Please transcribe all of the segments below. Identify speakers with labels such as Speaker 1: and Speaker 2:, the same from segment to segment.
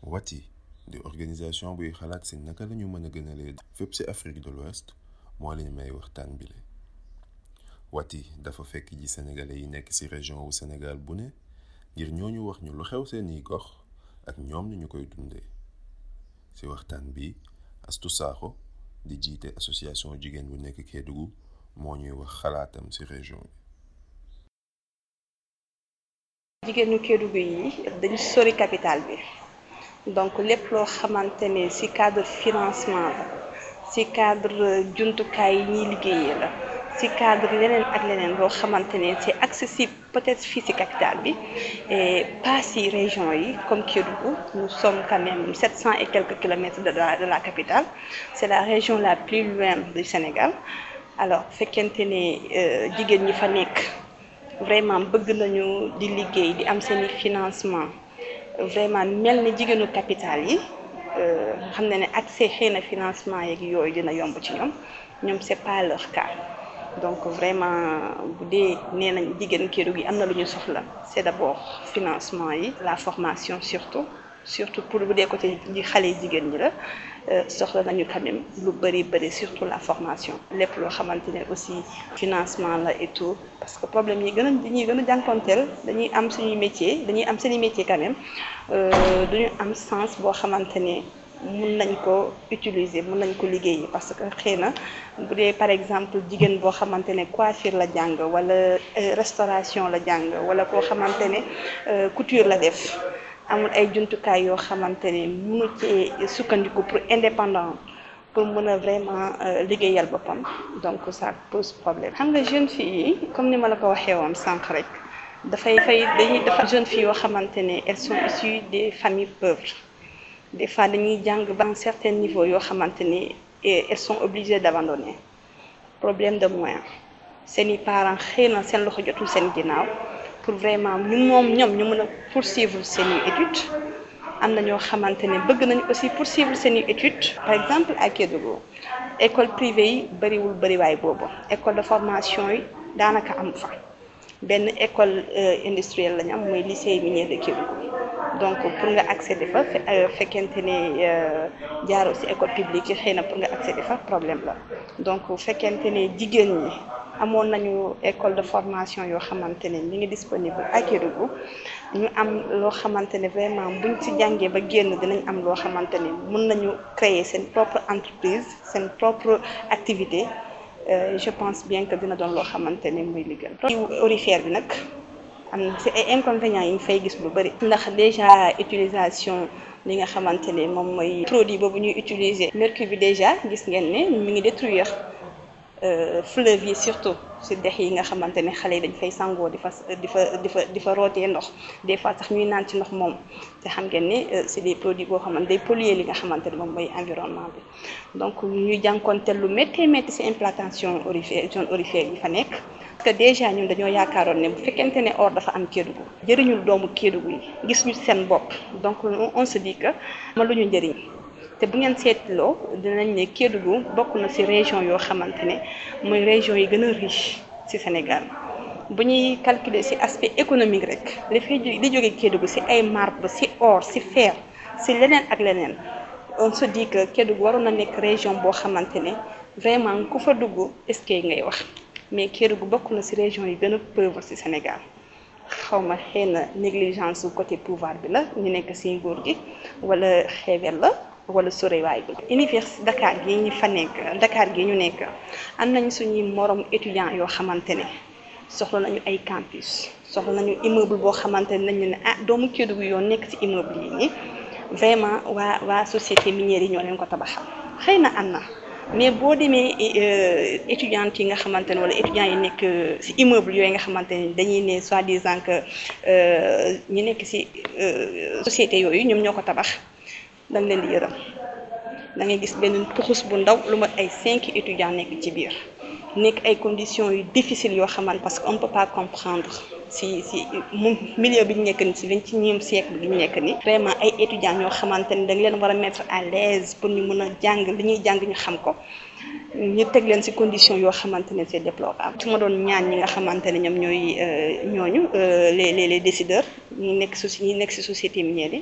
Speaker 1: WATI di organisation buy xalaat si naka lañu mën a gënalee fépp ci Afrique de l'Ouest moo leen may waxtaan bile. WATI dafa fekk ji sénégalais yi nekk ci région wu Sénégal bu ne ngir ñooñu wax ñu lu xew seeni gox ak ñoom ni ñu koy dundee. ci waxtaan bi Astou Sakho di jiite association jigéen bu nekk Kédougou moo ñuy wax xalaatam ci région bi.
Speaker 2: jigéenu Kédougou yi dañu sori capital bi donc lépp loo xamante ne ci cadre financement la ci cadre jumtukaay yi ñuy liggéeyee la ci cadre leneen ak leneen loo xamante ne c'est accessible peut-être fii ci capital bi et pas ci région yi comme Kédougou. Nous sommes quand même 700 et quelques kilomètres de la capitale. C'est la région la plus loin du Sénégal. Alors fekkente ne jigéen ñi fa nekk vraiment bëgg nañu di liggéey di am seeni financement vraiment mel ni jigéenu capital yi xam na ne accès xëy na financement yeeg yooyu dina yomb ci ñoom c'est pas leur cas. Donc vraiment bu dee nee nañ jigéen Kédougou yi am na lu ñu soxla c'est d'abord financement yi la formation surtout pour bu dee côté ji xale jigéen ñi la soxla nañu quand même lu bëri surtout la formation lépp loo xamante ne aussi financement la et tout parce que problème yi dañuy gën a jànkonteel dañuy am suñuy métier dañuy am seeni métier quand même duñu am sens boo xamante ne mun nañ ko utiliser mun nañ ko liggéeyi parce que xëy na bu dee par exemple jigéen boo xamante ne coiffure la jàng wala restauration la jàng wala koo xamante ne couture la def amul ay jumtukaay yoo xamante ne mënu ci sukkandiku pour indépendant pour mën a vraiment liggéeyal boppam donc ça pose problème. xam nga jeune fille yi comme ni ma la ko waxee woon sànq rek dañuy dafa jeune fille yoo xamante ne elles sont issues des familles pauvres. Des fois dañuy jàng ba un certain niveau yoo xamante ni elles sont obligées d'abandonner problème de moyens seeni parents xëy na seen loxo jotul seen ginnaaw pour vraiment ñoom ñu mën a poursuivre seeni études am na ñoo xamante ne bëgg nañu aussi poursuivre seeni études. Par exemple à Kédougou école privée yi bëriwaay boobu école de formation yi daanaka am fa benn école industrielle lañu am mooy lycée minier de Kédougou. Donc pour nga accéder fa fekkente ne jaaroo ci école publique yi xëy na pour nga accéder fa problème la donc fekkente ne jigéen ñi amoon nañu école de formation yoo xamante ne mi ngi disponible à Kédougou ñu am loo xamante ne vraiment buñ ci jàngee ba génn dinañ am loo xamante ne mën nañu créer seen propre entreprise seen propre activité je pense bien que dina doon loo xamante ne muy liggéey. Aurifère bi nag. am na ci ay inconvénients yi ñu fay gis lu bari ndax déjà utilisation li nga xamante ne moom mooy produit boobu ñuy utiliser mercure bi déjà gis ngeen ne mi ngi détruire fleuve yi surtout ci dex yi nga xamante ne xale yi dañ fay sangoo di fa rootee ndox des fois sax ñuy naan ci ndox moom te xam ngeen ne c'est des produits boo xamante day polluer li nga xamante ne moom mooy environnement bi donc ñuy jànkonteel lu métti ci implantation zone aurifère yi fa nekk. Parce que déjà ñun dañoo yaakaaroon ne bu fekkente ne or dafa am Kédougou jëriñul doomu Kédougou yi gis ñu seen bopp donc on se dit que ma lu ñu njëriñ te bu ngeen seetloo dinañ ne Kédougou bokk na ci région yoo xamante ne mooy région yi gën a riche ci Sénégal bu ñuy calculer ci aspect économique rek li jóge Kédougou ci ay marbre ci or ci fer ci leneen ak leneen on se dit que Kédougou waroon na nekk région boo xamante ne vraiment ku fa dugg est-ce que ngay wax. Mais Kédougou bokk na ci région yi gën a pauvre ci Sénégal xawma xëy na négligence su côté pouvoir bi la ñu nekk ci nguur gi wala xeebel la wala sorewaay bi. Université Dakar gi ñu fa nekk Dakar gi ñu nekk am nañ suñuy morom étudiants yoo xamante ne soxla nañu ay campus soxla nañu immeuble boo xamante ne nañu ne doomu Kédougou yoo nekk ci immeuble yi nii vraiment waa société minière yi ñoo leen ko tabaxal xëy na am na. Mais boo demee étudiantes yi nga xamante ne wala étudiants yi nekk ci immeuble yooyu nga xamante ne dañuy ne soi-disant que ñi nekk ci société yooyu ñoom ñoo ko tabax dañ leen di yërëm da ngay gis benn puxus bu ndaw lu mat ay 5 étudiants nekk ci biir nekk ay conditions yu difficiles yoo xamante parce que on peut pas comprendre ci milieu bi ñu nekk ni ci 21e siècle bi ñu nekk ni vraiment ay étudiants ñoo xamante ne dañ leen war a mettre à l'aise pour ñu mën a jàng li ñuy jàng ñu xam ko ñu teg leen ci conditions yoo xamante ne c'est déplorable. su ma doon ñaan ñi nga xamante ne ñoom ñooy ñooñu les décideurs ñi nekk ci société minière yi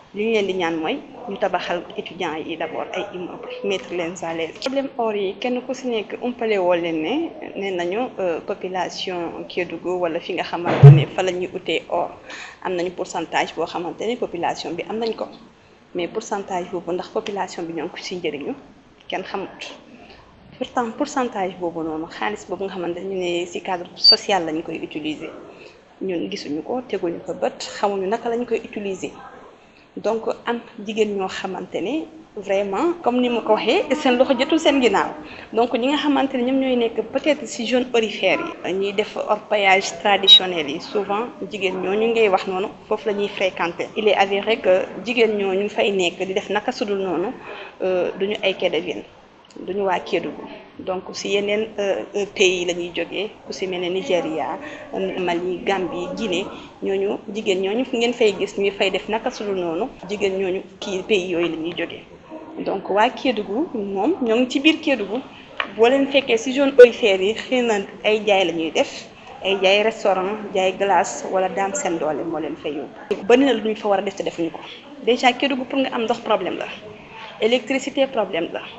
Speaker 2: li ñu leen di ñaan mooy ñu tabaxal étudiants yi d'abord ay immeubles mettre leen à l'aise. problème or yi kenn ku si nekk umpale woo leen ne nee nañu population Kédougou wala fi nga xamante ne fa la ñuy utee or am nañu pourcentage boo xamante ne population bi am nañ ko mais pourcentage boobu ndax population bi ñoo ngi ko si njëriñu kenn xamut. pourtant pourcentage boobu noonu xaalis boobu nga xamante ñu ne ci cadre social lañ koy utiliser ñun gisuñu ko teguñu ko bët xamuñu naka lañ koy utiliser donc am jigéen ñoo xamante ne vraiment comme ni ma ko waxee seen loxo jotul seen ginnaaw donc ñi nga xamante ne ñoom ñooy nekk peut-être ci zone aurifère yi ñuy def orpaillage traditionnel yi souvent jigéen ñooñu ngay wax noonu foofu la ñuy fréquenter. Il est avéré que jigéen ñooñu fay nekk di def naka sudul noonu duñu ay Kédougouin duñu waa Kédougou donc si yeneen pays la ñuy jógee ku si mel ne Nigéria Mali Gambie Guinée ñooñu jigéen ñooñu fu ngeen fay gis ñuy fay def naka sudul noonu jigéen ñooñu kii pays yooyu la ñuy jógee donc waa Kédougou moom ñoo ngi ci biir Kédougou boo leen fekkee si zone aurifère yi xëy na ay jaay la ñuy def ay jaay restaurant jaay glace wala daan seen doole moo leen fay yóbbu. bari na lu ñu fa war a def te defuñu ko déjà Kédougou pour nga am ndox problème la électricité problème la.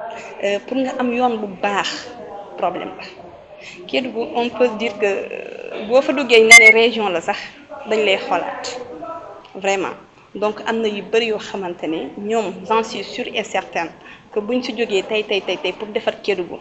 Speaker 2: Pour nga am yoon bu baax problème la Kédougou on peut dire que boo fa duggee nga ne région la sax dañ lay xoolaat vraiment donc am na yu bëri yoo xamante ne ñoom j'en suis sûre et certaine que buñ si jógee tey pour defar Kédougou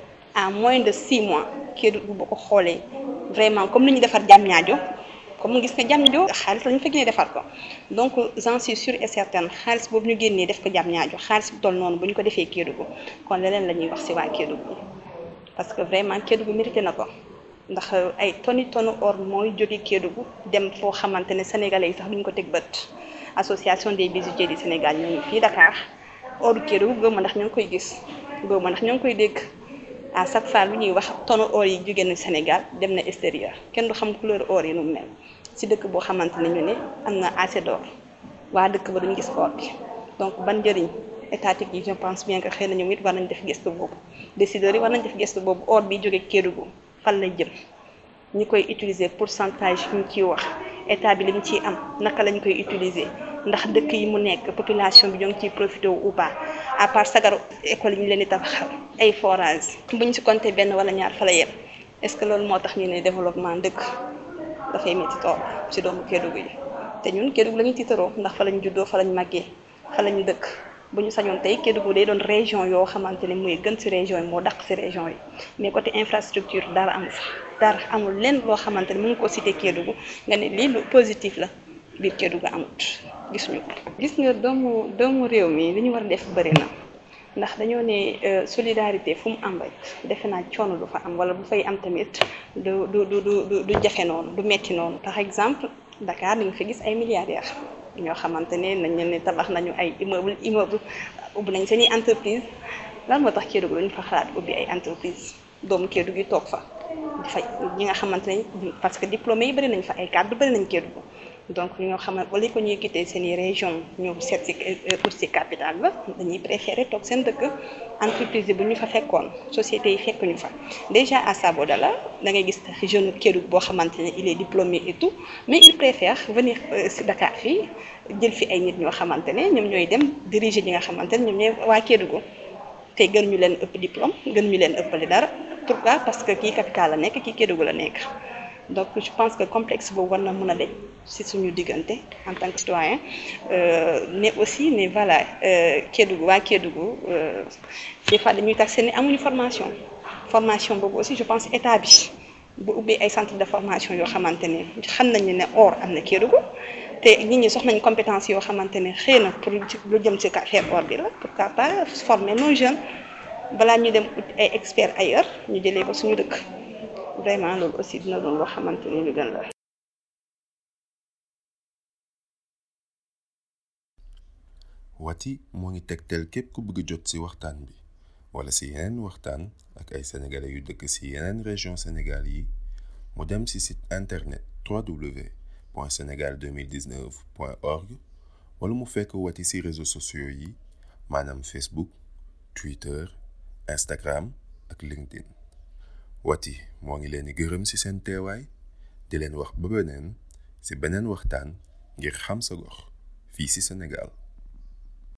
Speaker 2: à moins de 6 mois Kédougou boo ko xoolee vraiment comme ni ñu defar Diamniadio comme gis nga Diamniadio xaalis lañu fekk ne defar ko donc j'en suis sûre et certaine xaalis boobu ñu génnee def ko Diamniadio xaalis bu toll noonu bu ñu ko defee Kédougou kon leneen la ñuy wax ci waa Kédougou parce que vraiment Kédougou mérité na ko ndax ay tonni or mooy jóge Kédougou dem foo xamante ne sénégalais yi sax duñ ko teg bët association des bijoutiers du Sénégal ñoo ngi fii Dakar oru Kédougou góob ma ndax ñoo ngi koy gis góob ma ndax ñoo ngi koy dégg à chaque fois lu ñuy wax tonne or yi jóge na Sénégal dem na extérieur kenn du xam couleur or yi nu mu mel ci dëkk boo xamante ne ñu ne am na assez d'or waa dëkk ba duñ gis or bi donc ban njëriñ étatique yi je pense bien que xëy na ñoom it war nañ def gëstu boobu décideurs yi war nañ def gëstu boobu or bi jóge Kédougou fan lay jëm ñi koy utiliser pourcentage yi ñu ciy wax état bi li mu ciy am naka lañ koy utiliser ndax dëkk yi mu nekk population bi ñoo ngi ciy profité ou pas à part sagaru école yi ñu leen di tabaxal ay forage bu ñu si compté benn wala ñaar fa la yem est-ce que loolu moo tax ñu ne développement dëkk dafay métti tool si doomu Kédougou yi te ñun Kédougou la ñu tiitaroo ndax fa lañ juddoo fa lañ màggee fa lañu dëkk bu ñu sañoon tey Kédougou day doon région yoo xamante ne mooy gën ci région yi moo dàq ci région yi mais côté infrastructure dara amu fa dara amul lenn loo xamante ne mu ngi ko cité Kédougou nga ne lii lu positif la biir Kédougou amut gisuñu ko. gis nga doomu réew mi li ñu war a def bëri na ndax dañoo ne solidarité fu mu am rek defe naa coono du fa am wala bu fay am tamit du jafe noonu du metti noonu par exemple Dakar dañu fi gis ay milliardaires. ñoo xamante ne nañ leen ne tabax nañu ay immeuble ubbi nañ seeni entreprise lan moo tax Kédougou dañu fa xalaat ubbi ay entreprise doomu Kédougou yi toog fa di fay ñi nga xamante ne parce que diplômé yi bëri nañ fa ay cadre bëri nañ Kédougou donc ñoo xamante wala ko ñuy quitté seeni région ñëw seet si pour si capital ba dañuy préféré toog seen dëkk entreprise yi bu ñu fa fekkoon société yi fekkuñu fa déjà à Sabodala da ngay gis jeune Kédougou boo xamante ne il est diplômé et tout mais il préfère venir si Dakar fii jël fi ay nit ñoo xamante ne ñoom ñooy dem diriger ñi nga xamante ne ñoom ñooy waa Kédougou te gën ñu leen ëpp diplôme gën ñu leen ëppale dara pourquoi parce que kii capital la nekk kii Kédougou la nekk donc je pense que complexe boobu war na mën a deñ ci suñu diggante en tant que citoyen mais aussi ne voilà Kédougou waa Kédougou des fois dañuy tax seen amuñu formation boobu aussi je pense état bi bu ubbee ay centre de formation yoo xamante ne xam nañu ne or am na Kédougou te nit ñi soxla nañ compétence yoo xamante ne xëy na pour lu jëm ci affaire or bi la pourquoi pas former nos jeunes balaa ñu dem ay experts ailleurs ñu jëlee ko suñu dëkk vraiment loolu aussi dina doon loo xamante ne lu gën la.
Speaker 1: Wati moo ngi tegtal képp ku bëgg jot ci waxtaan bi wala ci yeneen waxtaan ak ay sénégalais yu dëkk ci yeneen région Sénégal yi mu dem ci site internet www.senegal2019.org wala mu fekk Wati ci réseaux sociaux yi maanaam Facebook Twitter Instagram ak LinkedIn. Wati moo ngi leen di gërëm ci seen teewaay di leen wax ba beneen ci beneen waxtaan ngir xam sa gox fii ci Sénégal.